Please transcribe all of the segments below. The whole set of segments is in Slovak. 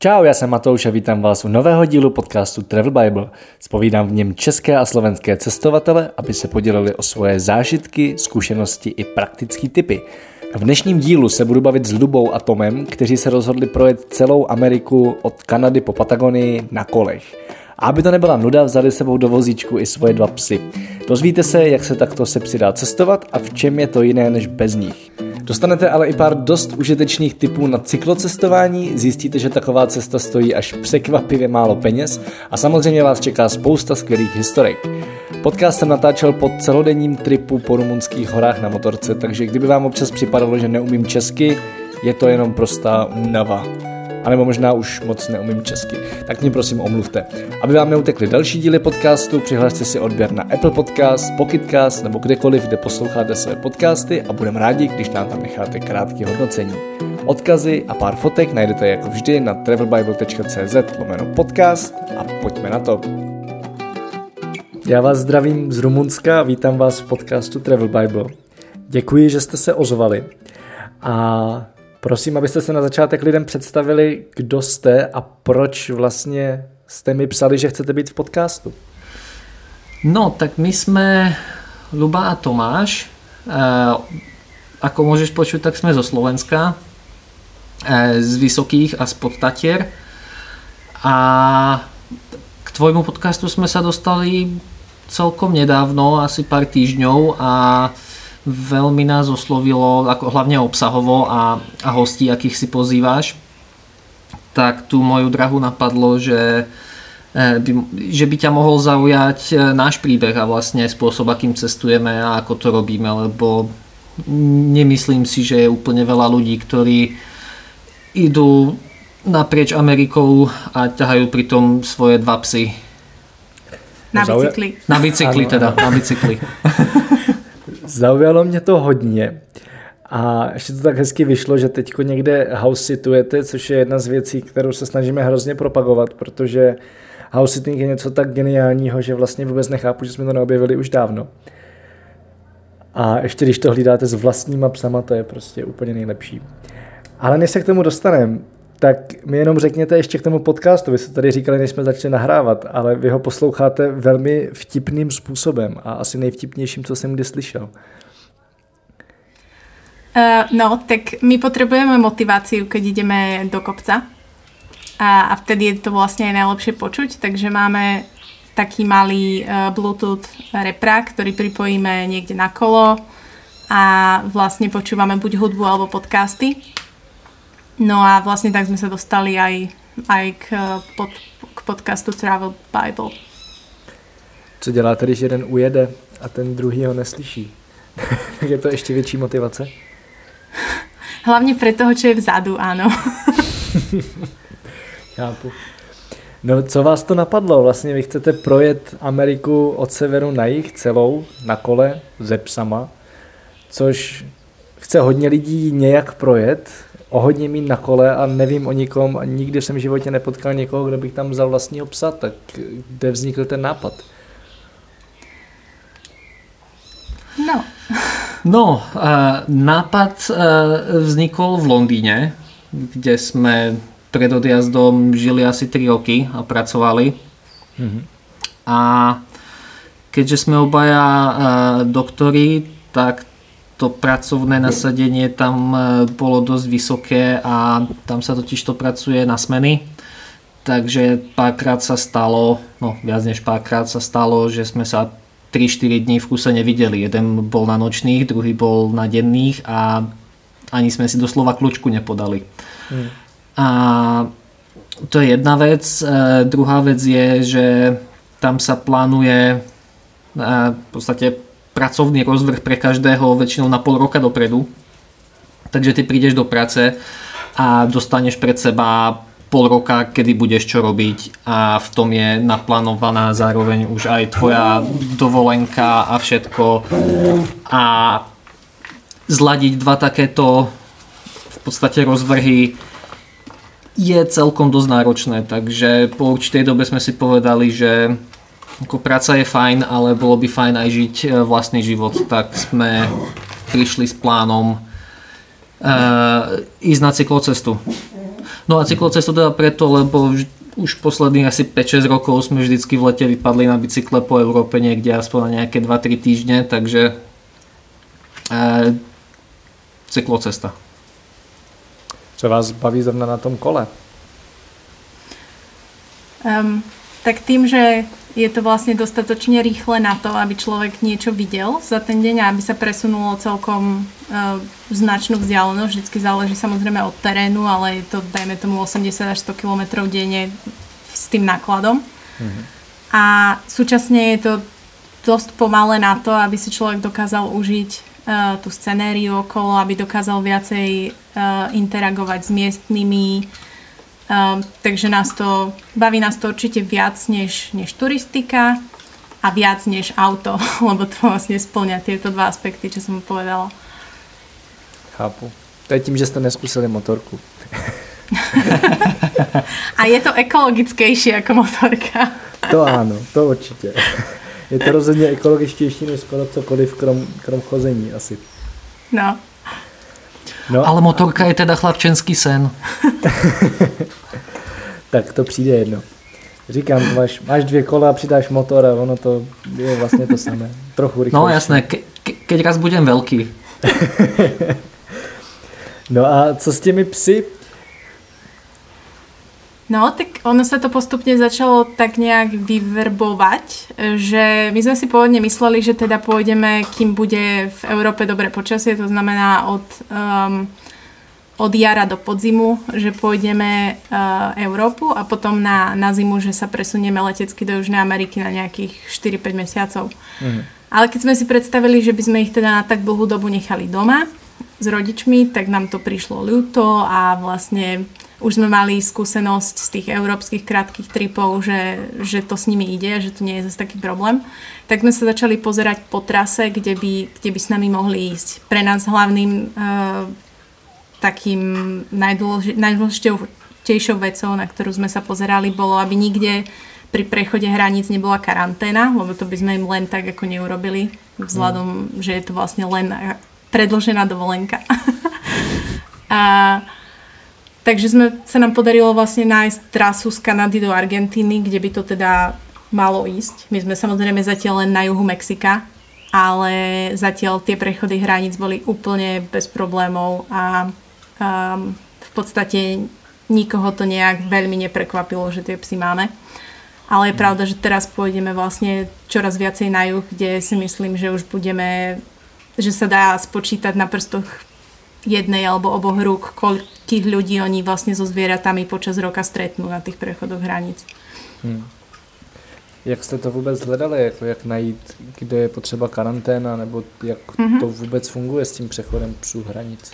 Čau, já jsem Matouš a vítám vás u nového dílu podcastu Travel Bible. Zpovídám v něm české a slovenské cestovatele, aby se podělili o svoje zážitky, zkušenosti i praktické tipy. V dnešním dílu se budu bavit s Lubou a Tomem, kteří se rozhodli projet celou Ameriku od Kanady po Patagonii na kolech. A aby to nebyla nuda, vzali sebou do vozíčku i svoje 2 psy. Dozvíte se, jak se takto se psy dá cestovat a v čem je to jiné než bez nich. Dostanete ale i pár dost užitečných tipů na cyklocestování, zjistíte, že taková cesta stojí až překvapivě málo peněz a samozřejmě vás čeká spousta skvělých historek. Podcast jsem natáčel po celodenním tripu po rumunských horách na motorce, takže kdyby vám občas připadalo, že neumím česky, je to jenom prostá únava. A nebo možná už moc neumím česky, tak mě prosím omluvte. Aby vám neutekly další díly podcastu, přihlašte si odběr na Apple Podcast, Pocketcast nebo kdekoliv, kde posloucháte své podcasty a budeme rádi, když nám tam necháte krátké hodnocení. Odkazy a pár fotek najdete jako vždy na travelbible.cz/podcast a pojďme na to. Já vás zdravím z Rumunska a vítám vás v podcastu Travel Bible. Děkuji, že jste se ozvali a prosím, abyste se na začátek lidem představili, kdo jste a proč vlastně jste mi psali, že chcete být v podcastu. No, tak my sme Luba a Tomáš. Ako môžeš počuť, tak sme zo Slovenska, z Vysokých a z Podtatier. A k tvojmu podcastu sme sa dostali celkom nedávno, asi pár týždňov a veľmi nás oslovilo, ako hlavne obsahovo a hostí, akých si pozývaš. Tak tu moju drahu napadlo, že by ťa mohol zaujať náš príbeh a vlastne spôsob, akým cestujeme a ako to robíme, lebo nemyslím si, že je úplne veľa ľudí, ktorí idú naprieč Amerikou a ťahajú pritom svoje 2 psy. Na bicykli. Na bicykli teda, na bicykli. Zaujalo mě to hodně a ještě to tak hezky vyšlo, že teďko někde house situujete, což je jedna z věcí, kterou se snažíme hrozně propagovat, protože house sitting je něco tak geniálního, že vlastně vůbec nechápu, že jsme to neobjevili už dávno. A ještě když to hlídáte s vlastníma psama, to je prostě úplně nejlepší. Ale než se k tomu dostaneme, tak mi jenom řekněte ještě k tomu podcastu. Vy jste tady říkali, než jsme začali nahrávat, ale vy ho posloucháte velmi vtipným způsobem a asi nejvtipnějším, co jsem kdy slyšel. No, tak my potrebujeme motiváciu, keď ideme do kopca a vtedy je to vlastne aj najlepšie počuť, takže máme taký malý Bluetooth reprák, ktorý pripojíme niekde na kolo a vlastne počúvame buď hudbu alebo podcasty. No a vlastne tak sme sa dostali aj k podcastu Travel Bible. Co děláte, když jeden ujede a ten druhý ho neslyší? Je to ještě větší motivace? Hlavne pre toho, čo je vzadu, áno. Chápu. No, co vás to napadlo? Vlastně vy chcete projet Ameriku od severu na jih celou na kole se psama, což chce hodně lidí nějak projet, o hodně mít na kole a nevím o nikom a nikdy jsem v životě nepotkal někoho, kdo bych tam vzal vlastního psa, tak kde vznikl ten nápad? No, nápad vznikol v Londýne, kde sme pred odjazdom žili asi 3 roky a pracovali. Mm-hmm. A keďže sme obaja doktori, tak to pracovné nasadenie tam bolo dosť vysoké a tam sa totiž to pracuje na smeny. Takže párkrát sa stalo, no viac než párkrát sa stalo, že sme sa 3-4 dní v kuse nevideli. Jeden bol na nočných, druhý bol na denných a ani sme si doslova kľúčku nepodali. A to je jedna vec. Druhá vec je, že tam sa plánuje v podstate pracovný rozvrh pre každého väčšinou na pol roka dopredu. Takže ty prídeš do práce a dostaneš pred seba pol roka, kedy budeš čo robiť a v tom je naplánovaná zároveň už aj tvoja dovolenka a všetko. A zladiť 2 takéto v podstate rozvrhy je celkom dosť náročné, takže po určitej dobe sme si povedali, že ako práca je fajn, ale bolo by fajn aj žiť vlastný život, tak sme prišli s plánom ísť na cyklocestu. No a cyklocestu teda preto, lebo už posledných asi 5-6 rokov sme vždycky v lete vypadli na bicykle po Európe niekde aspoň na nejaké 2-3 týždne, takže cyklocesta. Co vás baví zrovna na tom kole? Tak tým, že je to vlastne dostatočne rýchle na to, aby človek niečo videl za ten deň a aby sa presunulo celkom značnú vzdialenosť. Vždycky záleží samozrejme od terénu, ale je to, dajme tomu, 80 až 100 km denne s tým nákladom. A súčasne je to dosť pomalé na to, aby si človek dokázal užiť tú scenériu okolo, aby dokázal viacej interagovať s miestnymi. Takže baví nás to určite viac než turistika a viac než auto, lebo to vlastne spĺňa tieto dva aspekty, čo som povedala. Chápu. To je tím, že jste neskusili motorku. A je to ekologickejšie ako motorka. To áno, to určitě. Je to rozhodně ekologičtější než skoro cokoliv krom chození asi. No. Ale motorka je teda chlapčenský sen. Tak to přijde jedno. Říkám, máš 2 kola a přidáš motor a ono to je vlastně to samé. Trochu rychlejší. No jasné, keď raz budem veľký. No a co s těmi psy? No, tak ono sa to postupne začalo tak nejak vyverbovať, že my sme si pôvodne mysleli, že teda pôjdeme, kým bude v Európe dobré počasie, to znamená od jara do podzimu, že pôjdeme Európu a potom na zimu, že sa presunieme letecky do Južnej Ameriky na nejakých 4-5 mesiacov. Ale keď sme si predstavili, že by sme ich teda na tak dlhú dobu nechali doma s rodičmi, tak nám to prišlo ľúto a vlastne už sme mali skúsenosť z tých európskych krátkych tripov, že to s nimi ide, že to nie je zase taký problém. Tak sme sa začali pozerať po trase, kde by s nami mohli ísť. Pre nás hlavným takým najdôležitejšou vecou, na ktorú sme sa pozerali, bolo, aby nikde pri prechode hraníc nebola karanténa, lebo to by sme im len tak ako neurobili, vzhľadom, že je to vlastne len predĺžená dovolenka. Takže sa nám podarilo vlastne nájsť trasu z Kanady do Argentíny, kde by to teda malo ísť. My sme samozrejme zatiaľ len na juhu Mexika, ale zatiaľ tie prechody hraníc boli úplne bez problémov a v podstate nikoho to nejak veľmi neprekvapilo, že tie psy máme. Ale je pravda, že teraz pôjdeme vlastne čoraz viacej na juh, kde si myslím, že už že sa dá spočítať na prstoch jednej alebo oboch rúk, koľkých ľudí oni vlastne so zvieratami počas roka stretnú na tých prechodoch hraníc. Jak jste to vůbec hledali? Jak najít, kde je potřeba karanténa, nebo jak to vůbec funguje s tím přechodem psů hranic?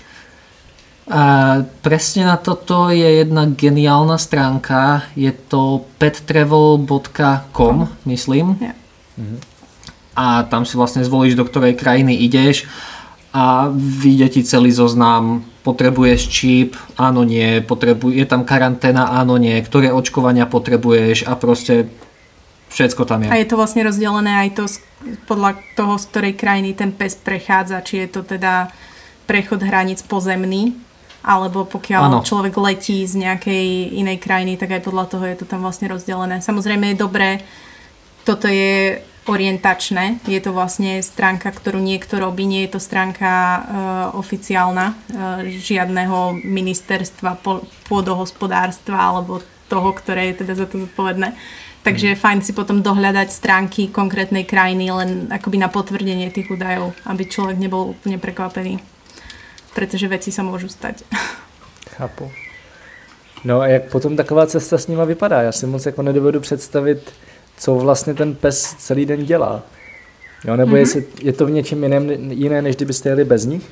Presne na toto je jedna geniálna stránka. Je to pettravel.com, myslím. Yeah. A tam si vlastne zvolíš, do ktorej krajiny ideš a vyjde ti celý zoznam. Potrebuješ čip, áno, nie, je tam karanténa, áno, nie, ktoré očkovania potrebuješ a proste všetko tam je. A je to vlastne rozdelené aj to podľa toho, z ktorej krajiny ten pes prechádza, či je to teda prechod hraníc pozemný, alebo pokiaľ človek letí z nejakej inej krajiny, tak aj podľa toho je to tam vlastne rozdelené. Samozrejme je dobré, toto je orientačné, je to vlastne stránka, ktorú niekto robí, nie je to stránka oficiálna žiadneho ministerstva pôdohospodárstva alebo toho, ktoré je teda za to zodpovedné. Takže je fajn si potom dohľadať stránky konkrétnej krajiny len akoby na potvrdenie tých údajov, aby človek nebol úplne prekvapený. Protože veci sa môžu stať. Chápu. No a jak potom taková cesta s nima vypadá? Já si moc jako nedovedu představit, co vlastně ten pes celý den dělá. Jo, nebo je to v něčem jiné, než kdybyste jeli bez nich?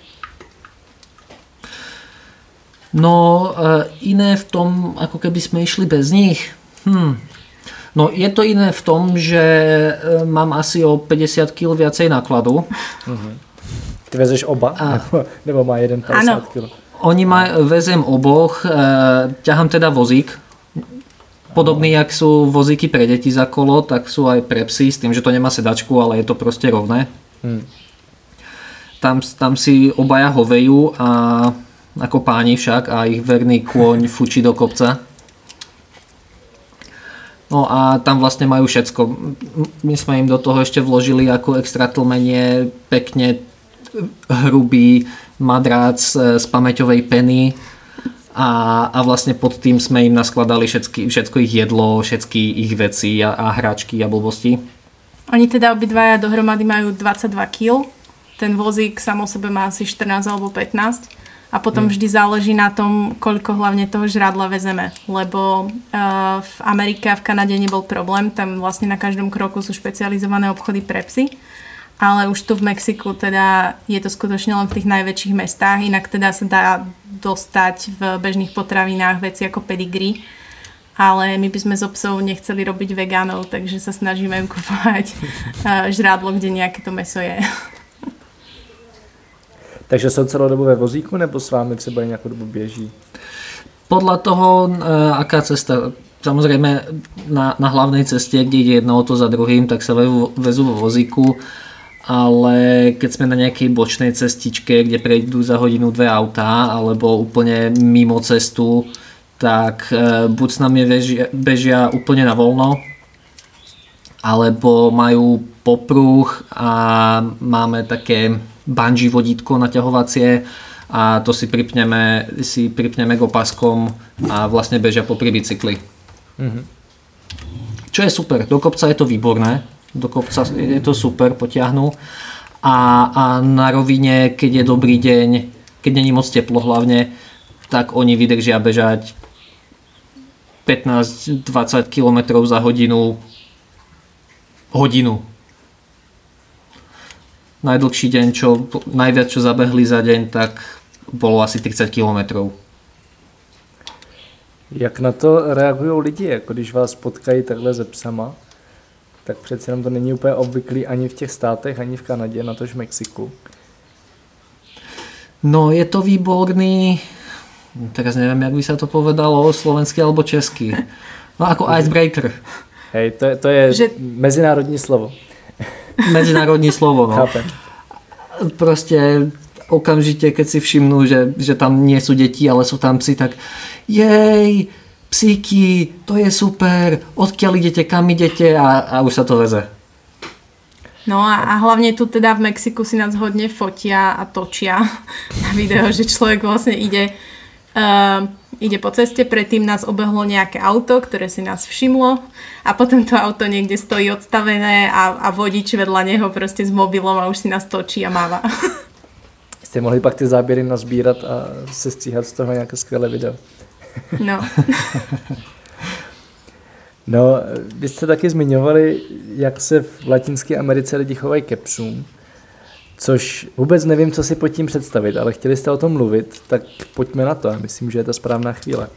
No, iné v tom, ako keby sme išli bez nich. No, je to iné v tom, že mám asi o 50 kg viacej nákladu. Ty vezeš oba? Nebo má jeden 50 kg? Vezem oboch, ťahám teda vozík. Podobný, jak sú vozíky pre deti za kolo, tak sú aj pre psy, s tým, že to nemá sedačku, ale je to proste rovné. Tam si obaja hovejú a ako páni však, a ich verný kôň fučí do kopca. No a tam vlastne majú všetko. My sme im do toho ešte vložili ako extra tlmenie pekne hrubý madrác z pamäťovej peny a vlastne pod tým sme im naskladali všetko ich jedlo, všetky ich veci a hračky a blbosti. Oni teda obidvaja dohromady majú 22 kg. Ten vozík sám o sebe má asi 14 alebo 15 a potom vždy záleží na tom, koľko hlavne toho žrádla vezeme, lebo v Amerike a v Kanade nebol problém, tam vlastne na každom kroku sú špecializované obchody pre psy, ale už tu v Mexiku teda je to skutočne len v tých najväčších mestách, inak teda sa dá dostať v bežných potravinách veci ako pedigree, ale my by sme z psov nechceli robiť vegánov, takže sa snažíme im kupovať žrádlo, kde nejaké to mäso je. Takže jsou celou dobu ve vozíku, nebo s vámi třeba nějakou dobu běží? Podľa toho, aká cesta. Samozrejme, na hlavnej ceste, kde ide jedno auto za druhým, tak sa vezú vo vozíku, ale keď sme na nejakej bočnej cestičke, kde prejdú za hodinu 2 autá, alebo úplne mimo cestu, tak buď s nami bežia úplne na voľno, alebo majú popruh a máme také bungee vodítko naťahovacie a to si pripneme k opaskom a vlastne bežia popri bicykli. Mm-hmm. Čo je super, do kopca je to výborné, do kopca je to super, potiahnu a na rovine, keď je dobrý deň, keď není moc teplo hlavne, tak oni vydržia bežať 15-20 km za hodinu. Najdlhší deň, najviac čo zabehli za deň, tak bolo asi 30 km. Jak na to reagují lidi, jako když vás potkají takhle se psama, tak přece jenom to není úplně obvyklý ani v těch státech, ani v Kanadě, natož v Mexiku. No je to výborný, teraz neviem, jak by sa to povedalo, slovensky alebo česky. No ako icebreaker. Hej, to je že... mezinárodní slovo. Medzinárodní slovo, no. Chápem. Proste okamžite, keď si všimnú, že tam nie sú deti, ale sú tam psi, tak jej, psíky, to je super, odkiaľ idete, kam idete a už sa to veze. No a hlavne tu teda v Mexiku si nás hodne fotia a točia na video, že človek vlastne ide po ceste, predtým nás obehlo nejaké auto, ktoré si nás všimlo a potom to auto niekde stojí odstavené a vodič vedľa neho proste s mobilom a už si nás točí a máva. Jste mohli pak ty záběry nazbírat a sestříhat z toho nějaké skvělé video. No. No, vy jste taky zmiňovali, jak se v Latinské Americe lidi chovají ke psům. Což vůbec nevím, co si pod tím představit, ale chtěli jste o tom mluvit, tak pojďme na to. Myslím, že je to správná chvíle.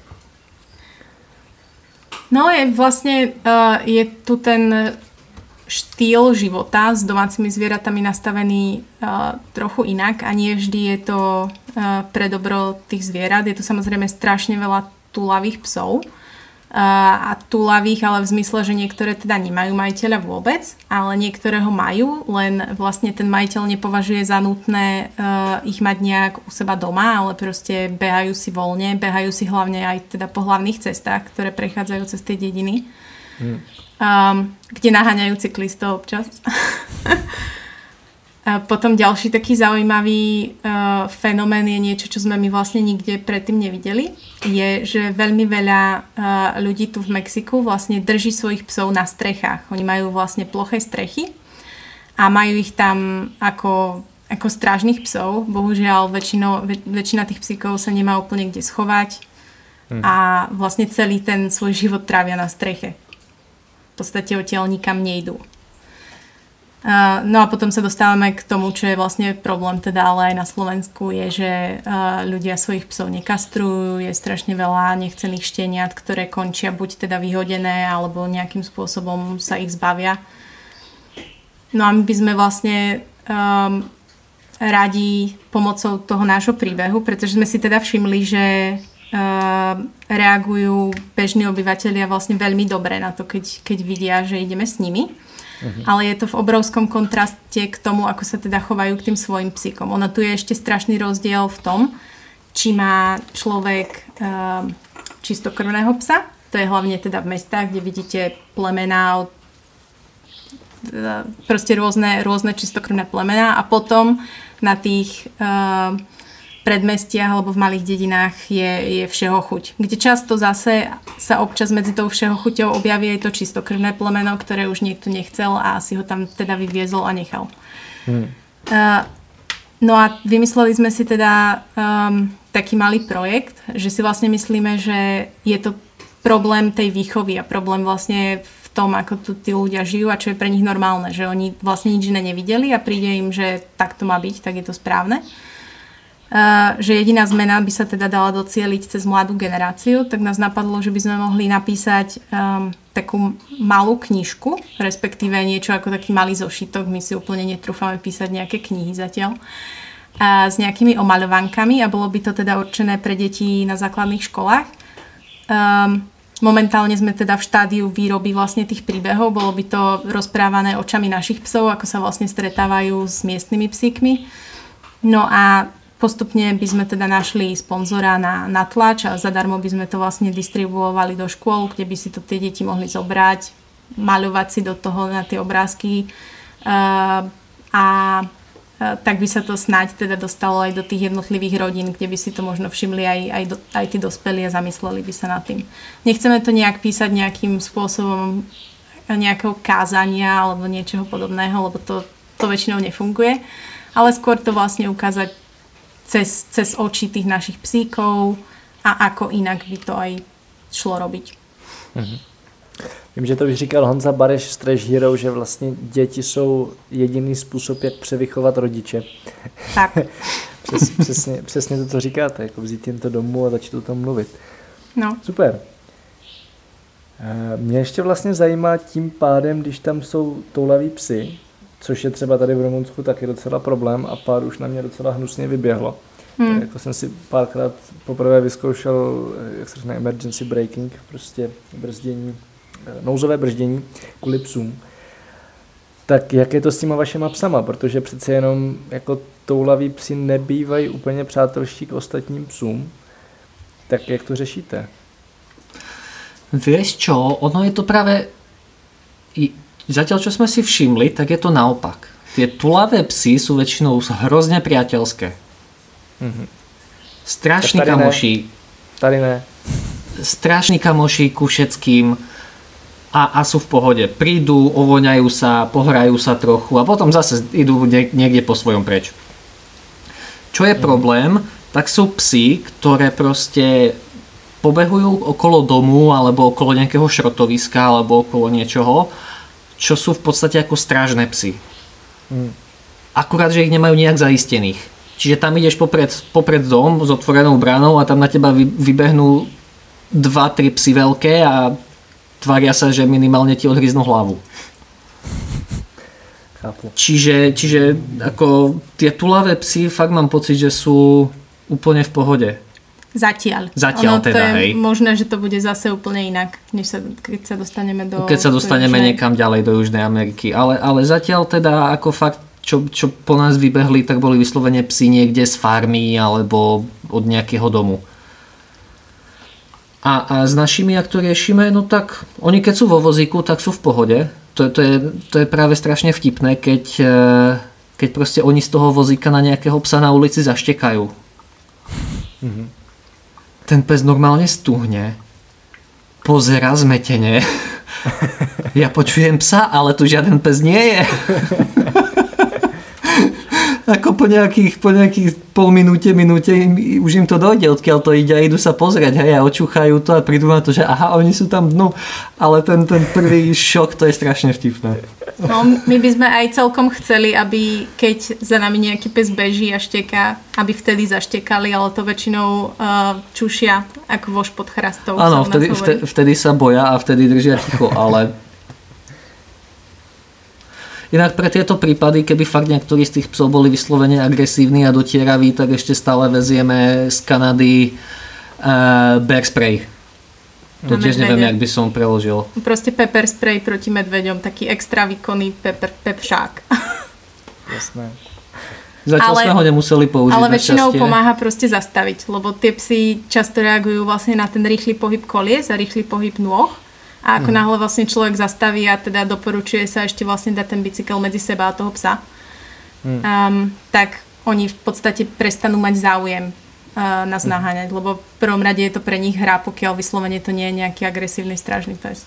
No, je tu ten štýl života s domácimi zvieratami nastavený trochu inak a nie vždy je to pre dobro tých zvierat. Je tu samozrejme strašne veľa túlavých psov. A túlavých, ale v zmysle, že niektoré teda nemajú majiteľa vôbec, ale niektoré ho majú, len vlastne ten majiteľ nepovažuje za nutné ich mať nejak u seba doma, ale proste behajú si voľne, behajú si hlavne aj teda po hlavných cestách, ktoré prechádzajú cez tie dediny, kde naháňajú cyklistov občas. Potom ďalší taký zaujímavý fenomén je niečo, čo sme my vlastne nikde predtým nevideli. Je, že veľmi veľa ľudí tu v Mexiku vlastne drží svojich psov na strechách. Oni majú vlastne ploché strechy a majú ich tam ako strážnych psov. Bohužiaľ väčšina tých psíkov sa nemá úplne kde schovať a vlastne celý ten svoj život trávia na streche. V podstate odtiaľ nikam nejdú. No a potom sa dostávame k tomu, čo je vlastne problém teda ale aj na Slovensku, je, že ľudia svojich psov nekastrujú, je strašne veľa nechcených šteniat, ktoré končia buď teda vyhodené, alebo nejakým spôsobom sa ich zbavia. No a my by sme vlastne radi pomocou toho nášho príbehu, pretože sme si teda všimli, že reagujú bežní obyvatelia vlastne veľmi dobre na to, keď vidia, že ideme s nimi. Ale je to v obrovskom kontraste k tomu, ako sa teda chovajú k tým svojim psíkom. Ono tu je ešte strašný rozdiel v tom, či má človek čistokrvného psa. To je hlavne teda v mestách, kde vidíte plemená, proste rôzne čistokrvné plemená a potom na tých predmestiach alebo v malých dedinách je všeho chuť. Kde často zase sa občas medzi tou všeho chuťou objaví aj to čistokrvné plemeno, ktoré už niekto nechcel a si ho tam teda vyviezol a nechal. No a vymysleli sme si teda taký malý projekt, že si vlastne myslíme, že je to problém tej výchovy a problém vlastne v tom, ako tu tí ľudia žijú a čo je pre nich normálne, že oni vlastne nič iné nevideli a príde im, že tak to má byť, tak je to správne. Že jediná zmena by sa teda dala docieliť cez mladú generáciu, tak nás napadlo, že by sme mohli napísať takú malú knižku, respektíve niečo ako taký malý zošitok, my si úplne netrúfame písať nejaké knihy zatiaľ, s nejakými omaľovánkami a bolo by to teda určené pre deti na základných školách. Momentálne sme teda v štádiu výroby vlastne tých príbehov, bolo by to rozprávané očami našich psov, ako sa vlastne stretávajú s miestnymi psíkmi. No a postupne by sme teda našli sponzora na tlač a zadarmo by sme to vlastne distribuovali do škôl, kde by si to tie deti mohli zobrať, maľovať si do toho na tie obrázky a tak by sa to snáď teda dostalo aj do tých jednotlivých rodín, kde by si to možno všimli aj tí dospelí a zamysleli by sa nad tým. Nechceme to nejak písať nejakým spôsobom nejakého kázania alebo niečoho podobného, lebo to väčšinou nefunguje, ale skôr to vlastne ukázať cez oči tých našich psíkov a ako inak by to aj šlo robiť. Vím, že to už říkal Honza Bareš z Trash Hero, že vlastně děti jsou jediný způsob, jak převychovat rodiče. Tak. Přesně to, co říkáte, jako vzít jim to domů a začít o tom mluvit. No. Super. Mě ještě vlastně zajímá tím pádem, když tam jsou toulaví psy, což je třeba tady v Rumunsku taky docela problém a pár už na mě docela hnusně vyběhlo. Jako jsem si párkrát poprvé vyzkoušel, jak se řekne, emergency braking, prostě brzdění, nouzové brzdění kvůli psům. Tak jak je to s těma vašima psama? Protože přece jenom jako toulaví psi nebývají úplně přátelští k ostatním psům. Tak jak to řešíte? Vieš čo, ono je to práve... Zatiaľ, čo sme si všimli, tak je to naopak. Tie tulavé psy sú väčšinou hrozne priateľské. Strašní kamoši. Tady ne. Strašní kamoši ku všetkým a sú v pohode. Prídu, ovoňajú sa, pohrajú sa trochu a potom zase idú niekde po svojom preč. Čo je problém, tak sú psy, ktoré proste pobehujú okolo domu alebo okolo nejakého šrotoviska alebo okolo niečoho, čo sú v podstate ako strážne psy. Akurát, že ich nemajú nejak zaistených. Čiže tam ideš popred dom s otvorenou bránou a tam na teba vybehnú 2-3 psy veľké a tvária sa, že minimálne ti odhryznú hlavu. Chápu. Čiže ako tie tulavé psy fakt mám pocit, že sú úplne v pohode. Zatiaľ teda, to je hej. Možné, že to bude zase úplne inak, keď sa dostaneme do... Keď sa dostaneme niekam ďalej do Južnej Ameriky. Ale zatiaľ teda ako fakt, čo po nás vybehli, tak boli vyslovene psi niekde z farmy alebo od nejakého domu. A s našimi, ak to riešime, no tak oni keď sú vo vozíku, tak sú v pohode. To je práve strašne vtipné, keď proste oni z toho vozíka na nejakého psa na ulici zaštekajú. Ten pes normálne stuhne, pozerá zmetene. Ja počujem psa, ale tu žiaden pes nie je. Ako po nejakých pol minúte už im to dojde, odkiaľ to ide a idú sa pozrieť, hej, a očúchajú to a prídu na to, že aha, oni sú tam dnu, ale ten prvý šok, to je strašne vtipné. No, my by sme aj celkom chceli, aby keď za nami nejaký pes beží a šteká, aby vtedy zaštekali, ale to väčšinou čušia ako vož pod chrastou. Áno, vtedy sa boja a vtedy držia ticho, ale inak pre tieto prípady, keby fakt niektorí z tých psov boli vyslovene agresívni a dotieraví, tak ešte stále vezieme z Kanady bear spray. To tiež neviem, jak by som preložil. Proste pepper spray proti medveďom, taký extra výkonný pepšák. Jasné. Zatiaľ sme ho nemuseli použiť. Ale väčšinou pomáha proste zastaviť, lebo tie psy často reagujú vlastne na ten rýchly pohyb kolies a rýchly pohyb nôh. A ako náhle vlastne človek zastaví a teda doporučuje sa ešte vlastne dať ten bicykel medzi seba a toho psa, tak oni v podstate prestanú mať záujem nás naháňať, lebo v prvom rade je to pre nich hra, pokiaľ vyslovene to nie je nejaký agresívny strážny pes.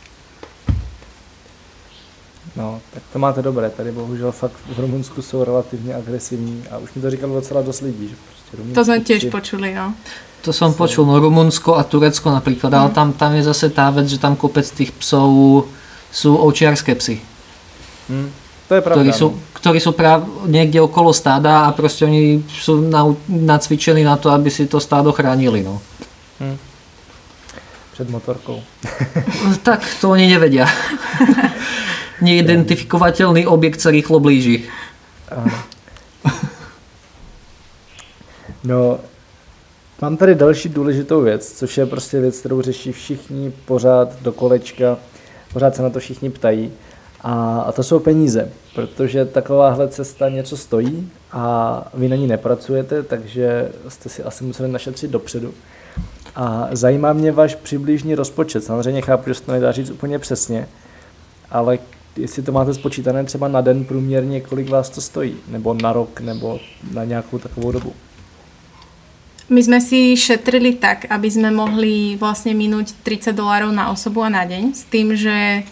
No, tak to máte dobré. Tady bohužel fakt v Rumunsku jsou relativně agresivní a už mi to říkalo docela dost lidí. Že prostě to sme tiež počuli, no. To som počul, no Rumunsko a Turecko napríklad, ale tam je zase tá vec, že tam kopec tých psov sú ovčiarske psy. To je pravda. Ktorí sú práve niekde okolo stáda a proste oni sú nacvičení na to, aby si to stádo chránili, no. Před motorkou. Tak to oni nevedia. Neidentifikovateľný objekt sa rýchlo blíži. No, mám tady další důležitou věc, což je prostě věc, kterou řeší všichni pořád do kolečka, pořád se na to všichni ptají a to jsou peníze, protože takováhle cesta něco stojí a vy na ní nepracujete, takže jste si asi museli našetřit dopředu. A zajímá mě váš přibližný rozpočet. Samozřejmě chápu, že se to nedá říct úplně přesně, ale jestli to máte spočítané třeba na den průměrně, kolik vás to stojí, nebo na rok, nebo na nějakou takovou dobu. My sme si šetrili tak, aby sme mohli vlastne minúť $30 na osobu a na deň, s tým, že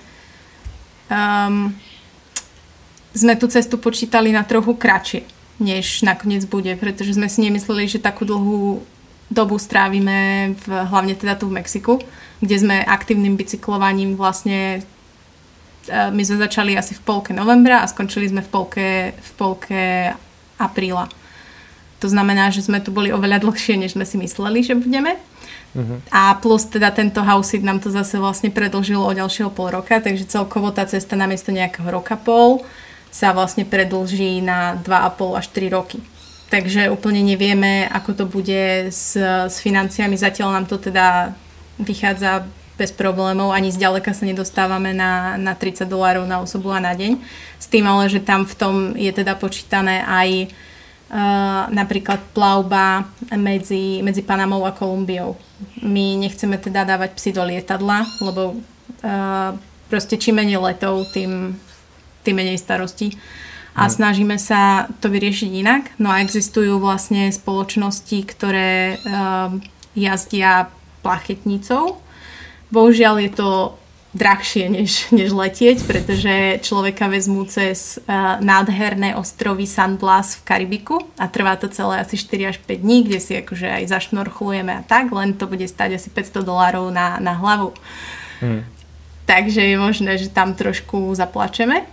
sme tú cestu počítali na trochu kratšie, než nakoniec bude, pretože sme si nemysleli, že takú dlhú dobu strávime hlavne teda tu v Mexiku, kde sme aktívnym bicyklovaním vlastne my sme začali asi v polke novembra a skončili sme v polke apríla. To znamená, že sme tu boli oveľa dlhšie, než sme si mysleli, že budeme. A plus teda tento house sit nám to zase vlastne predĺžilo o ďalšieho pol roka, takže celkovo tá cesta namiesto nejakého roka pol sa vlastne predĺží na 2,5 až 3 roky. Takže úplne nevieme, ako to bude s financiami. Zatiaľ nám to teda vychádza bez problémov, ani zďaleka sa nedostávame na $30 na osobu a na deň. S tým ale, že tam v tom je teda počítané aj napríklad plavba medzi Panamou a Kolumbiou. My nechceme teda dávať psy do lietadla, lebo proste čím menej letov, tým menej starostí. A snažíme sa to vyriešiť inak. No a existujú vlastne spoločnosti, ktoré jazdia plachetnicou. Bohužiaľ je to drahšie než letieť, pretože človeka vezmú cez nádherné ostrovy San Blas v Karibiku a trvá to celé asi 4 až 5 dní, kde si akože aj zašnorchlujeme a tak, len to bude stáť asi $500 na hlavu. Takže je možné, že tam trošku zaplačeme.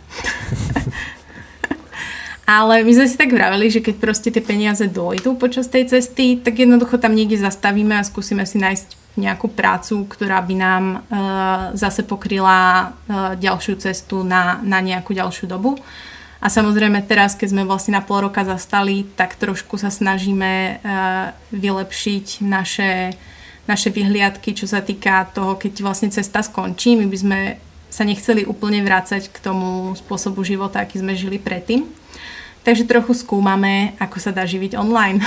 Ale my sme si tak vraveli, že keď proste tie peniaze dojdú počas tej cesty, tak jednoducho tam niekde zastavíme a skúsime si nájsť nejakú prácu, ktorá by nám zase pokryla ďalšiu cestu na nejakú ďalšiu dobu. A samozrejme teraz, keď sme vlastne na pol roka zastali, tak trošku sa snažíme vylepšiť naše vyhliadky, čo sa týka toho, keď vlastne cesta skončí. My by sme sa nechceli úplne vrácať k tomu spôsobu života, aký sme žili predtým. Takže trochu skúmame, ako sa dá živiť online.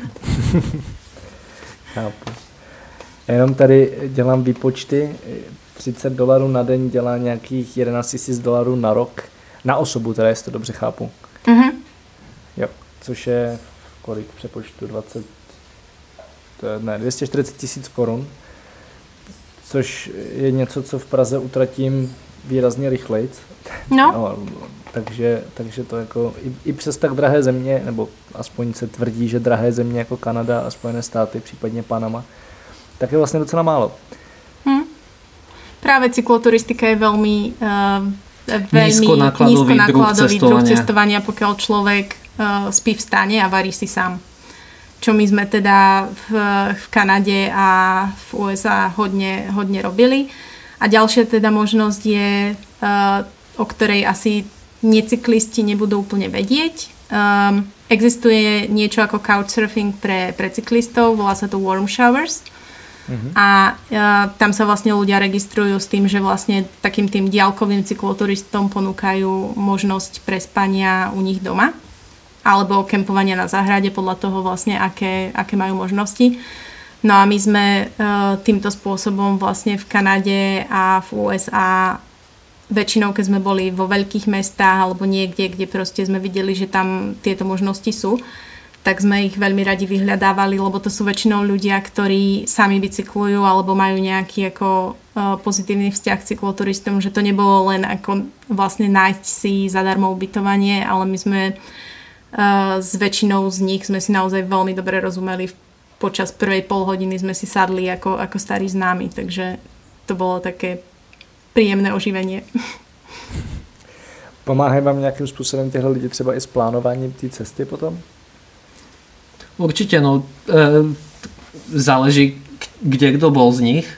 Chápu. Jenom tady dělám výpočty. $30 na den dělá nějakých $11,000 na rok. Na osobu, teda jestli to dobře chápu. Jo, což je kolik přepočtu? 240 000 korun. Což je něco, co v Praze utratím výrazně rychleji. No, takže to jako i přes tak drahé země, nebo aspoň se tvrdí, že drahé země jako Kanada a Spojené státy, případně Panama, tak je vlastně docela málo. Práve cykloturistika je veľmi nízkonákladový druh cestovania, pokiaľ človek spí v stane a varí si sám. Čo my sme teda v Kanade a v USA hodne robili. A ďalšia teda možnosť je, o ktorej asi necyklisti nebudú úplne vedieť. Existuje niečo ako couchsurfing pre cyklistov, volá sa to warm showers. A tam sa vlastne ľudia registrujú s tým, že vlastne takým tým diaľkovým cykloturistom ponúkajú možnosť prespania u nich doma. alebo kempovania na záhrade podľa toho vlastne, aké majú možnosti. No a my sme týmto spôsobom vlastne v Kanade a v USA väčšinou, keď sme boli vo veľkých mestách alebo niekde, kde proste sme videli, že tam tieto možnosti sú, tak sme ich veľmi radi vyhľadávali, lebo to sú väčšinou ľudia, ktorí sami bicyklujú alebo majú nejaký ako pozitívny vzťah k cykloturistom, že to nebolo len ako vlastne nájsť si zadarmo ubytovanie, ale my sme s väčšinou z nich sme si naozaj veľmi dobre rozumeli. Počas prvej polhodiny sme si sadli ako starí známi, takže to bolo také príjemné oživenie. Pomáhají vám nějakým způsobem tyhle lidi třeba i s plánováním té cesty potom? Určite, no záleží, kde kto bol z nich,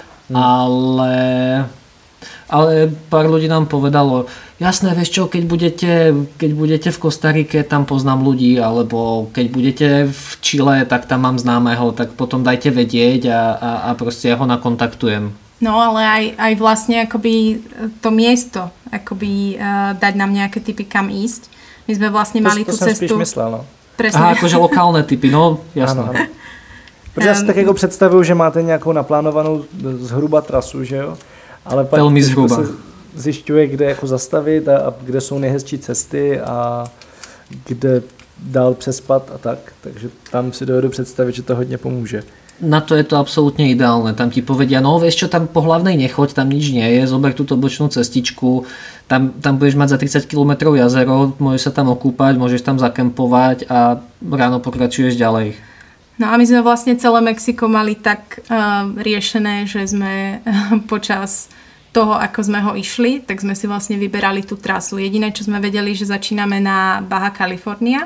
ale pár ľudí nám povedalo, jasné, vieš čo, keď budete v Kostarike, tam poznám ľudí, alebo keď budete v Chile, tak tam mám známeho, tak potom dajte vedieť a proste ja ho nakontaktujem. No, ale aj vlastne akoby to miesto, akoby dať nám nejaké tipy, kam ísť. My sme vlastne mali tú cestu... To som spíš myslel, no. Presne. Aha, akože lokálne typy, no jasné. Ano. Protože já si tak jako představuju, že máte nějakou naplánovanou zhruba trasu, že jo? Ale pak se zjišťuje, kde jako zastavit a kde jsou nejhezčí cesty a kde dál přespat a tak. Takže tam si dovedu představit, že to hodně pomůže. Na to je to absolútne ideálne. Tam ti povedia, no vieš čo, tam po hlavnej nechoď, tam nič nie je, zober túto bočnú cestičku, tam budeš mať za 30 km jazero, môžeš sa tam okúpať, môžeš tam zakempovať a ráno pokračuješ ďalej. No a my sme vlastne celé Mexiko mali tak riešené, že sme počas toho, ako sme ho išli, tak sme si vlastne vyberali tú trasu. Jediné, čo sme vedeli, že začíname na Baja California,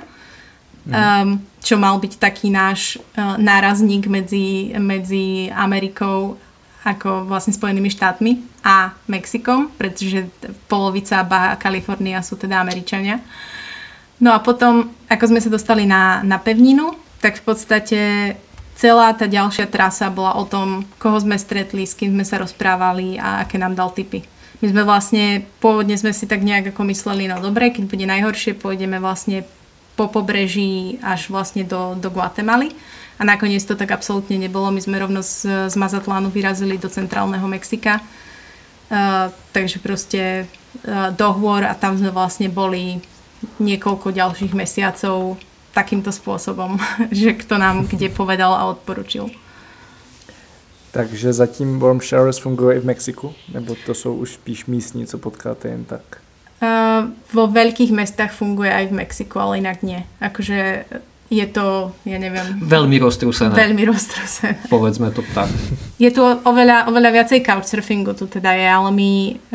čo mal byť taký náš nárazník medzi Amerikou ako vlastne Spojenými štátmi a Mexikom, pretože polovica Baja California sú teda Američania. No a potom, ako sme sa dostali na pevninu, tak v podstate celá tá ďalšia trasa bola o tom, koho sme stretli, s kým sme sa rozprávali a aké nám dal tipy. My sme vlastne, pôvodne sme si tak nejak ako mysleli, no dobre, keď bude najhoršie, pôjdeme vlastne po pobreží až vlastne do Guatemaly. A nakoniec to tak absolútne nebolo. My sme rovno z Mazatlánu vyrazili do centrálneho Mexika. Takže proste do hôr a tam sme vlastne boli niekoľko ďalších mesiacov takýmto spôsobom, že kto nám kde povedal a odporučil. Takže zatím Warm Showers funguje i v Mexiku? Nebo to sú už spíš místní, co potkáte jen tak? Vo veľkých mestách funguje aj v Mexiku, ale inak nie. Akože je to, ja neviem... Veľmi roztrúsené. Veľmi roztrúsené. Povedzme to tak. Je tu oveľa viacej couchsurfingu tu teda je, ale my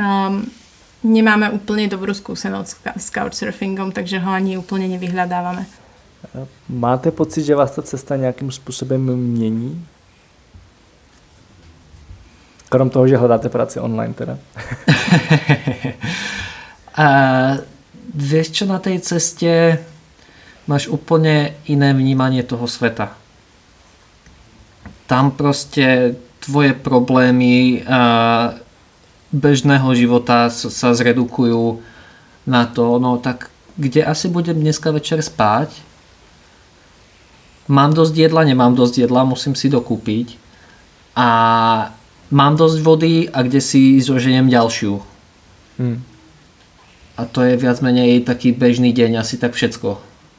nemáme úplne dobrú skúsenosť s couchsurfingom, takže ho ani úplne nevyhľadávame. Máte pocit, že vás ta cesta nějakým způsobem mění? Krom toho, že hledáte práci online teda. Vieš čo, na tej ceste máš úplne iné vnímanie toho sveta. Tam proste tvoje problémy bežného života sa zredukujú na to, no tak kde asi budem dneska večer spať? Mám dosť jedla, nemám dosť jedla, musím si dokúpiť. A mám dosť vody a kde si zoženiem ďalšiu. A to je viac menej taký bežný deň, asi tak všetko.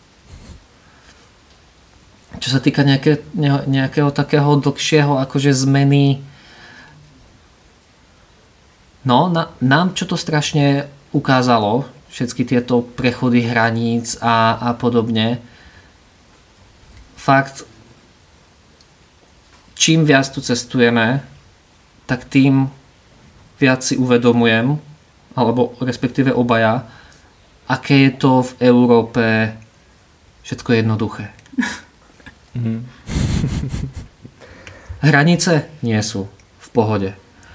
Čo sa týka nejakého takého dlhšieho akože zmeny, no nám čo to strašne ukázalo, všetky tieto prechody hraníc a podobne. Fakt, čím viac tu cestujeme, tak tým viac si uvedomujem, alebo respektíve obaja, aké je to v Európe všetko jednoduché. Hranice nie sú v pohode.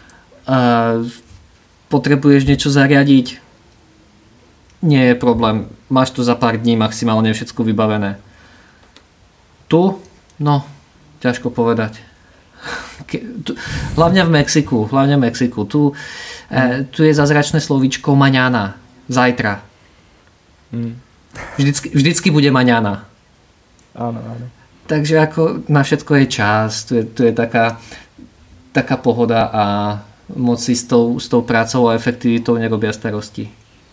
Potrebuješ niečo zariadiť? Nie je problém. Máš tu za pár dní maximálne všetko vybavené. Tu? No, ťažko povedať. Hlavne v Mexiku. Tu je zázračné slovíčko maňana. Zajtra. Vždycky bude maňana. Áno. Takže ako na všetko je čas, tu je taká pohoda a moc si s tou prácou a efektivitou nerobia starosti.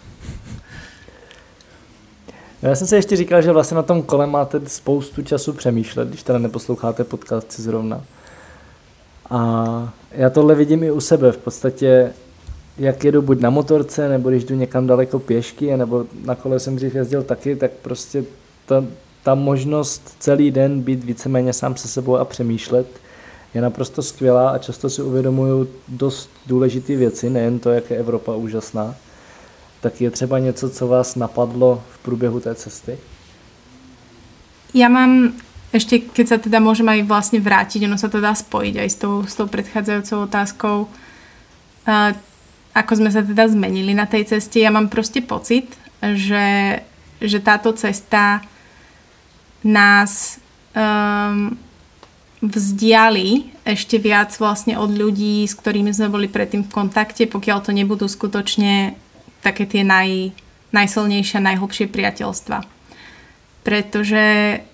Já jsem si ještě říkal, že vlastně na tom kole máte spoustu času přemýšlet, když teda neposloucháte podcasty zrovna. A já tohle vidím i u sebe. V podstatě, jak jedu buď na motorce, nebo když jdu někam daleko pěšky, nebo na kole jsem dřív jezdil taky, tak prostě ta možnost celý den být víceméně sám se sebou a přemýšlet je naprosto skvělá a často si uvědomuju dost důležité věci, nejen to, jak je Evropa úžasná. Tak je třeba něco, co vás napadlo v průběhu té cesty? Ja mám, ešte keď sa teda môžem aj vlastne vrátiť, ono sa to dá spojiť aj s tou predchádzajúcou otázkou, ako sme sa teda zmenili na tej ceste. Ja mám proste pocit, že táto cesta nás vzdiali ešte viac vlastne od ľudí, s ktorými sme boli predtým v kontakte, pokiaľ to nebudú skutočne také tie najsilnejšie a najhlbšie priateľstva. Pretože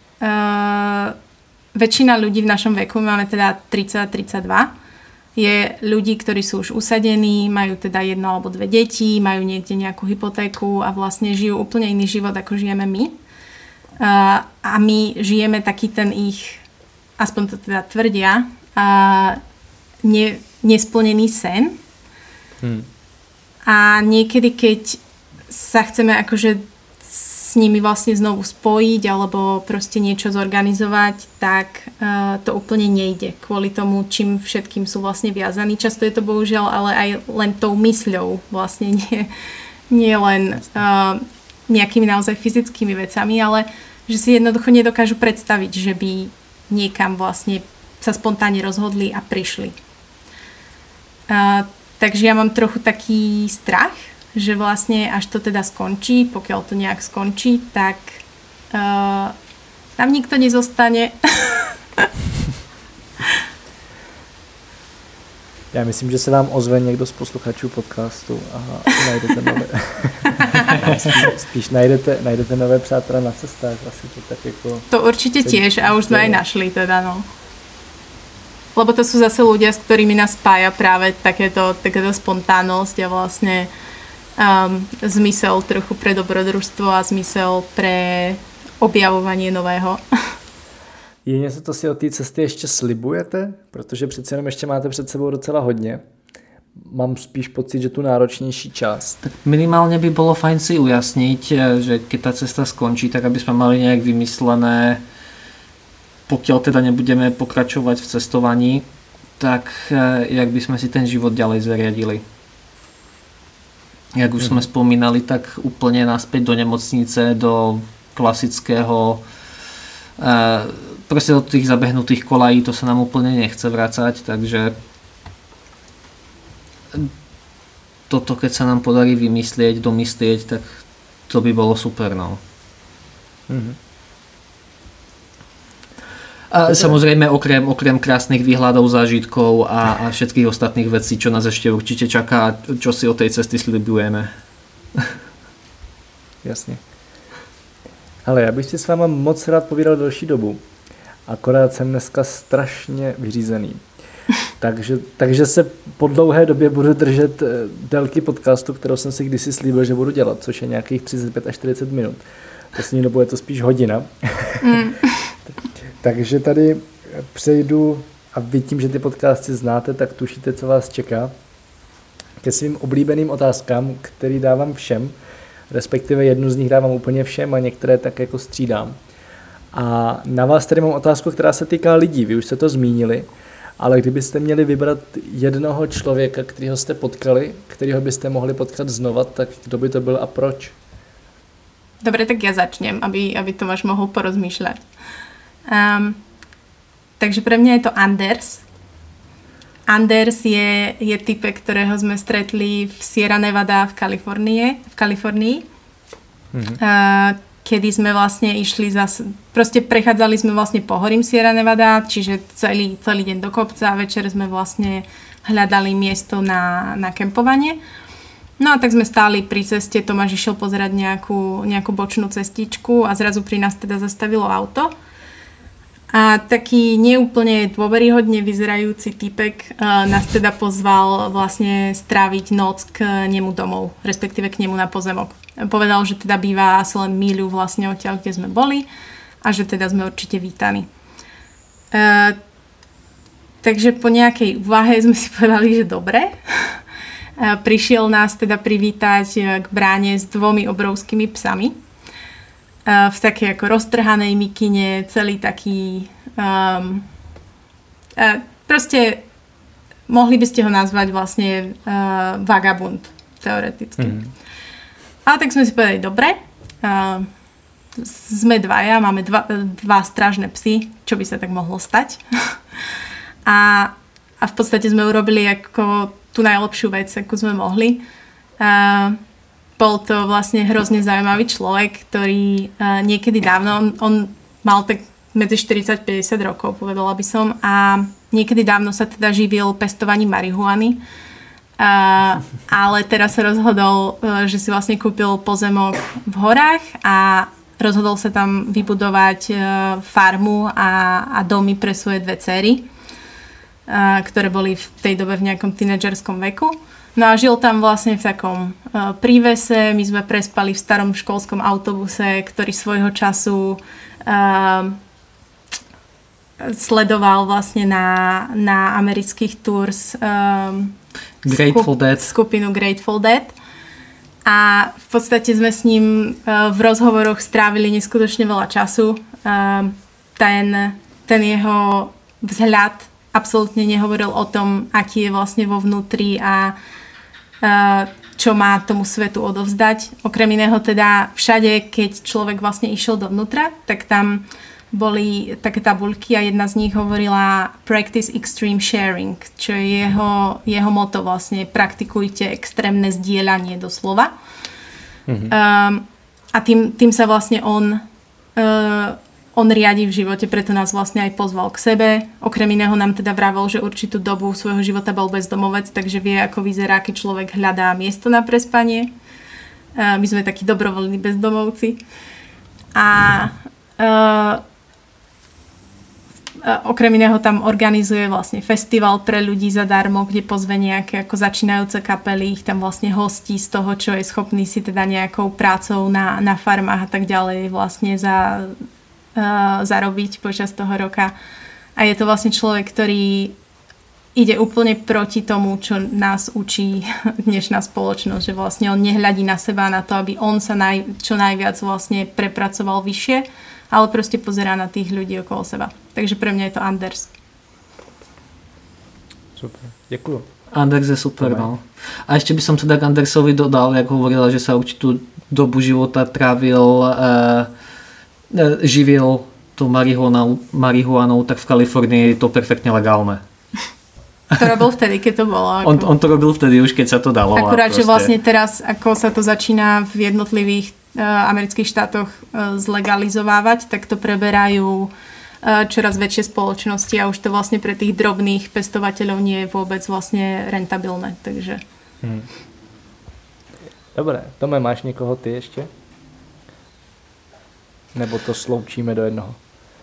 väčšina ľudí v našom veku, máme teda 30-32, je ľudí, ktorí sú už usadení, majú teda 1 alebo 2 deti, majú niekde nejakú hypotéku a vlastne žijú úplne iný život, ako žijeme my. A my žijeme taký ten ich, aspoň to teda tvrdia, nesplnený sen. A niekedy, keď sa chceme akože s nimi vlastne znovu spojiť alebo proste niečo zorganizovať, tak to úplne nejde kvôli tomu, čím všetkým sú vlastne viazaní. Často je to bohužiaľ ale aj len tou mysľou, vlastne nie len nejakými naozaj fyzickými vecami, ale že si jednoducho nedokážu predstaviť, že by niekam vlastne sa spontánne rozhodli a prišli. Takže ja mám trochu taký strach, že vlastne až to teda skončí, pokiaľ to nejak skončí, tak tam nikto nezostane. Já myslím, že se vám ozve někdo z posluchačů podcastu a najdete nové. Spíš najdete nové přátelé na cestách. Asi to tak jako... To určite tiež a už sme aj našli teda, no. Lebo to sú zase ľudia, s ktorými nás spája práve takéto spontánnosť a vlastne zmysel trochu pre dobrodružstvo a zmysel pre objavovanie nového. Je něco, co si od té cesty ještě slibujete? Protože přece jenom ještě máte před sebou docela hodně. Mám spíš pocit, že tu náročnější část. Tak minimálne by bolo fajn si ujasniť, že keď tá cesta skončí, tak aby sme mali nejak vymyslené, pokiaľ teda nebudeme pokračovať v cestovaní, tak jak by sme si ten život ďalej zariadili. Jak už sme spomínali, tak úplne naspäť do nemocnice, do klasického, proste do tých zabehnutých kolají, to sa nám úplne nechce vracať, takže toto, keď sa nám podarí vymyslieť, domyslieť, tak to by bolo super, no. A samozrejme okrem krásnych výhľadov, zážitkov a všetkých ostatných vecí, čo nás ešte určite čaká, čo si od tej cesty slibujeme. Jasně. Ale já bych si s váma moc rád povídal delší dobu. Akorát jsem dneska strašně vyřízený. Takže se po dlouhé době budu držet délky podcastu, kterou jsem si kdysi slíbil, že budu dělat, což je nějakých 35 až 40 minut. Poslední dobou je to spíš hodina. Takže tady přejdu, a vy tím, že ty podcasty znáte, tak tušíte, co vás čeká, ke svým oblíbeným otázkám, který dávám všem, respektive jednu z nich dávám úplně všem a některé tak jako střídám. A na vás tady mám otázku, která se týká lidí, vy už jste to zmínili, ale kdybyste měli vybrat jednoho člověka, kterého jste potkali, kterého byste mohli potkat znova, tak kdo by to byl a proč? Dobre, tak ja začnem, aby Tomáš mohol porozmýšľať. Takže pre mňa je to Anders. Anders je typek, ktorého sme stretli v Sierra Nevada v Kalifornii. Kedy sme vlastne išli proste prechádzali sme vlastne pohorím Sierra Nevada, čiže celý deň do kopca a večer sme vlastne hľadali miesto na kempovanie. No a tak sme stáli pri ceste, Tomáš išiel pozerať nejakú bočnú cestičku a zrazu pri nás teda zastavilo auto. A taký neúplne dôveryhodne vyzerajúci typek nás teda pozval vlastne stráviť noc k nemu domov, respektíve k nemu na pozemok. Povedal, že teda býva asi len míľu vlastne odtiaľ, kde sme boli a že teda sme určite vítaní. Takže po nejakej úvahe sme si povedali, že dobre. Prišiel nás teda privítať k bráne s 2 obrovskými psami. V takej ako roztrhanej mikine, celý taký... proste mohli by ste ho nazvať vlastne vagabund, teoreticky. Ale tak sme si povedali, dobre, sme 2, máme 2 strážne psy, čo by sa tak mohlo stať. A v podstate sme urobili ako tú najlepšiu vec, akú sme mohli. Bol to vlastne hrozne zaujímavý človek, ktorý niekedy dávno, on mal tak medzi 40-50 rokov, povedala by som, a niekedy dávno sa teda živil pestovaním marihuany, ale teraz sa rozhodol, že si vlastne kúpil pozemok v horách a rozhodol sa tam vybudovať farmu a domy pre svoje 2 dcery, ktoré boli v tej dobe v nejakom tínedžerskom veku. No a žil tam vlastne v takom prívese, my sme prespali v starom školskom autobuse, ktorý svojho času sledoval vlastne na amerických tours skupinu Grateful Dead. A v podstate sme s ním v rozhovoroch strávili neskutočne veľa času. Ten jeho vzhľad absolútne nehovoril o tom, aký je vlastne vo vnútri a čo má tomu svetu odovzdať. Okrem iného teda všade, keď človek vlastne išiel dovnútra, tak tam boli také tabuľky a jedna z nich hovorila Practice Extreme Sharing, čo je jeho motto vlastne, praktikujte extrémne zdieľanie doslova. A tým sa vlastne on riadi v živote, preto nás vlastne aj pozval k sebe. Okrem iného nám teda vravel, že určitú dobu svojho života bol bezdomovec, takže vie, ako vyzerá, keď človek hľadá miesto na prespanie. My sme takí dobrovoľní bezdomovci. Okrem iného tam organizuje vlastne festival pre ľudí zadarmo, kde pozve nejaké ako začínajúce kapely, ich tam vlastne hostí z toho, čo je schopný si teda nejakou prácou na farmách a tak ďalej vlastne zarobiť počas toho roka. A je to vlastne človek, ktorý ide úplne proti tomu, čo nás učí dnešná spoločnosť, že vlastne on nehľadí na seba, na to, aby on sa čo najviac vlastne prepracoval vyššie, ale proste pozerá na tých ľudí okolo seba. Takže pre mňa je to Anders. Super, ďakujem. Anders je super, no. A ešte by som teda k Andersovi dodal, jak hovorila, že sa určitú dobu života živil tú marihuanou, tak v Kalifornii je to perfektne legálne. To robil vtedy, keď to bolo. On to robil vtedy už, keď sa to dalo. Akurát, že vlastne teraz, ako sa to začína v jednotlivých amerických štátoch zlegalizovávať, tak to preberajú čoraz väčšie spoločnosti a už to vlastne pre tých drobných pestovateľov nie je vôbec vlastne rentabilné. Takže... Dobre, Tome, máš někoho ty ještě? Nebo to sloučíme do jednoho?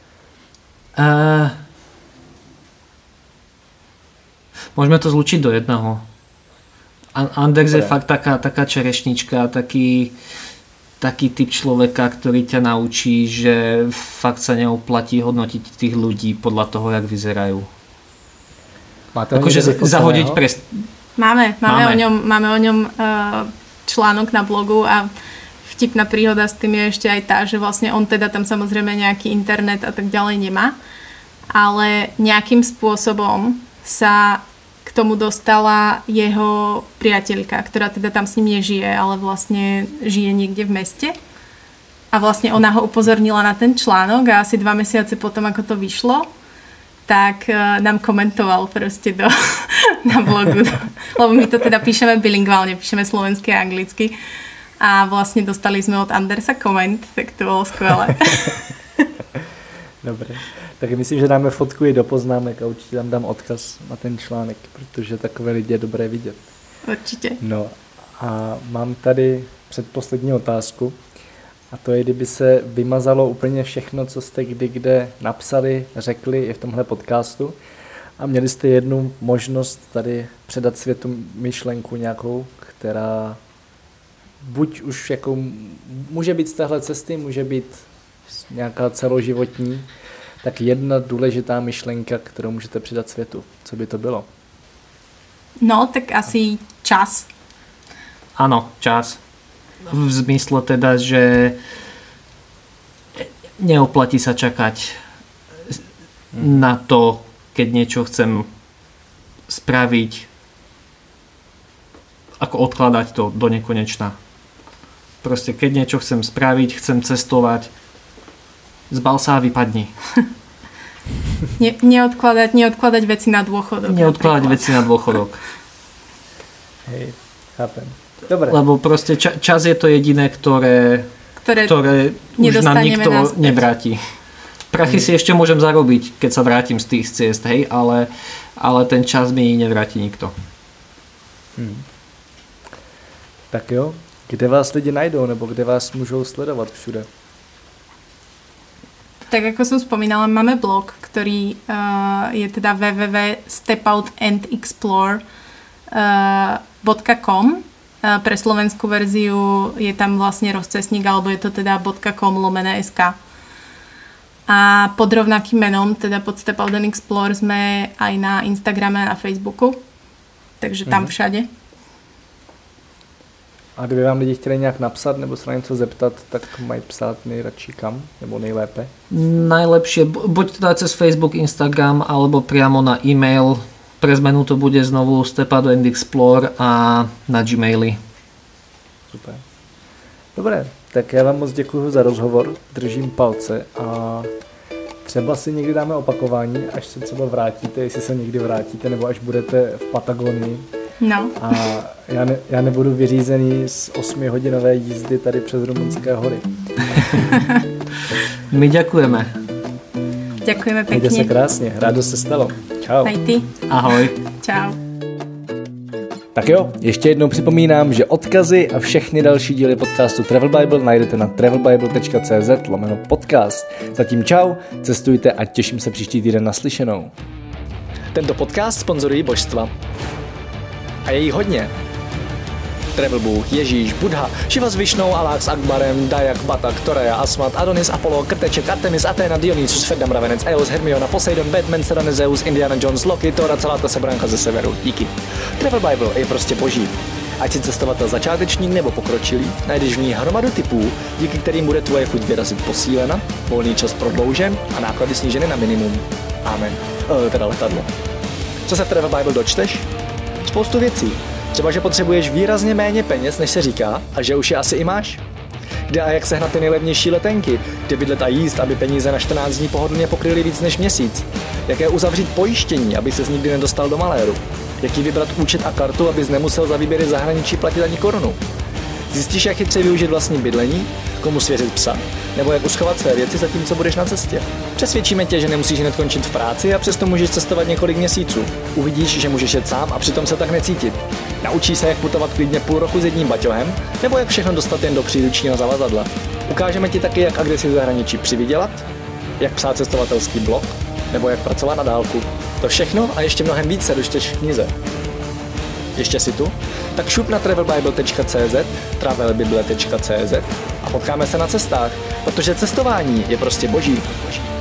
Môžeme to zlučiť do jedného. Anders je fakt taká čerešnička, taký typ človeka, ktorý ťa naučí, že fakt sa neoplatí hodnotiť tých ľudí podľa toho, jak vyzerajú. Máte akože zahodiť Máme o ňom článok na blogu a vtipná príhoda s tým je ešte aj tá, že vlastne on teda tam samozrejme nejaký internet a tak ďalej nemá, ale nejakým spôsobom sa k tomu dostala jeho priateľka, ktorá teda tam s ním nežije, ale vlastne žije niekde v meste. A vlastne ona ho upozornila na ten článok a asi 2 mesiace potom, ako to vyšlo, tak nám komentoval proste na blogu. Lebo my to teda píšeme bilingválne, píšeme slovensky a anglicky. A vlastne dostali sme od Andersa koment, tak to bolo skvelé. Dobre. Tak myslím, že dáme fotku i do poznámek a určitě tam dám odkaz na ten článek, protože takové lidi je dobré vidět. Určitě. No A mám tady předposlední otázku. A to je, kdyby se vymazalo úplně všechno, co jste kdy kde napsali, řekli i v tomhle podcastu a měli jste jednu možnost tady předat světu myšlenku nějakou, která buď už jako může být z téhle cesty, může být nějaká celoživotní, tak jedna důležitá myšlenka, kterou můžete předat světu. Co by to bylo? No, tak asi čas. Áno, čas. V zmysle teda, že neoplatí sa čakať na to, keď niečo chcem spraviť, ako odkladať to do nekonečna. Proste keď niečo chcem spraviť, chcem cestovať, zbal sa a vypadni. Neodkladať veci na dôchodok. Neodkladať veci na dôchodok. Hej, chápem. Dobre. Lebo proste čas je to jediné, ktoré už nám nikto naspäť nevráti. Prachy si ešte môžem zarobiť, keď sa vrátim z tých ciest, hej, ale ten čas mi nevráti nikto. Tak jo, kde vás lidi najdou, nebo kde vás můžou sledovat všude? Tak ako som spomínala, máme blog, ktorý je teda www.stepouandexplore.com. Pre slovenskú verziu je tam vlastne rozcestník, alebo je to teda .com/sk. A pod rovnakým menom, teda pod Step Out and Explore, sme aj na Instagrame a na Facebooku. Takže tam všade. A kdyby vám lidi chtěli nějak napsat nebo se na něco zeptat, tak mají psát nejradši kam? Nebo nejlépe? Najlepšie, buď teda cez Facebook, Instagram, alebo priamo na e-mail. Pre zmenu to bude znovu Step Out and Explore a na Gmaily. Super. Dobré, tak já vám moc děkuji za rozhovor, držím palce a třeba si někdy dáme opakování, až se třeba vrátíte, jestli se někdy vrátíte, nebo až budete v Patagonii. No. A já nebudu vyřízený z 8hodinové jízdy tady přes Rumunské hory. My ďakujeme. Ďakujeme pekne. Mějte se krásně, rádo se stalo. Čau. Aj ty. Ahoj. Čau. Tak jo, ještě jednou připomínám, že odkazy a všechny další díly podcastu Travel Bible najdete na travelbible.cz/podcast. Zatím čau, cestujte a těším se příští týden naslyšenou. Tento podcast sponzorují božstva. A je jí hodně. Travel Bůh, Ježíš, Buddha, Šiva s Višnou, Alák s Akbarem, Dajak, Batak, Toreja, Asmat, Adonis, Apollo, Krteček, Artemis, Athena, Dionysus, Ferdam, Ravenec, Eos, Hermiona, Poseidon, Batman, Serena, Zeus, Indiana Jones, Loki, Thor a celá ta sebranka ze severu. Díky. Travel Bible je prostě boží. Ať si cestovatel začátečník nebo pokročilý, najdeš v ní hromadu typů, díky kterým bude tvoje chuť vyrazit posílena, volný čas prodloužen a náklady sníženy na minimum. Amen. Teda letadlo. Co se v Travel Bible dočteš? Spoustu věcí. Třeba, že potřebuješ výrazně méně peněz, než se říká, a že už je asi i máš. Kde a jak sehnat ty nejlevnější letenky, kde bydlet a jíst, aby peníze na 14 dní pohodlně pokryly víc než měsíc. Jaké uzavřít pojištění, aby ses nikdy nedostal do maléru. Jaký vybrat účet a kartu, abys nemusel za výběry zahraničí platit ani korunu. Zjistíš, jak chytře využít vlastní bydlení, komu svěřit psa, nebo jak uschovat své věci zatímco budeš na cestě. Přesvědčíme tě, že nemusíš hned končit v práci a přesto můžeš cestovat několik měsíců. Uvidíš, že můžeš jet sám a přitom se tak necítit. Naučíš se, jak putovat klidně půl roku s jedním baťohem, nebo jak všechno dostat jen do příručního zavazadla. Ukážeme ti taky, jak agresi v zahraničí přivydělat, jak psát cestovatelský blog, nebo jak pracovat na dálku. To všechno a ještě mnohem víc se dočteš v knize. Ještě si tu? Tak šup na travelbible.cz, travelbible.cz a potkáme se na cestách, protože cestování je prostě boží.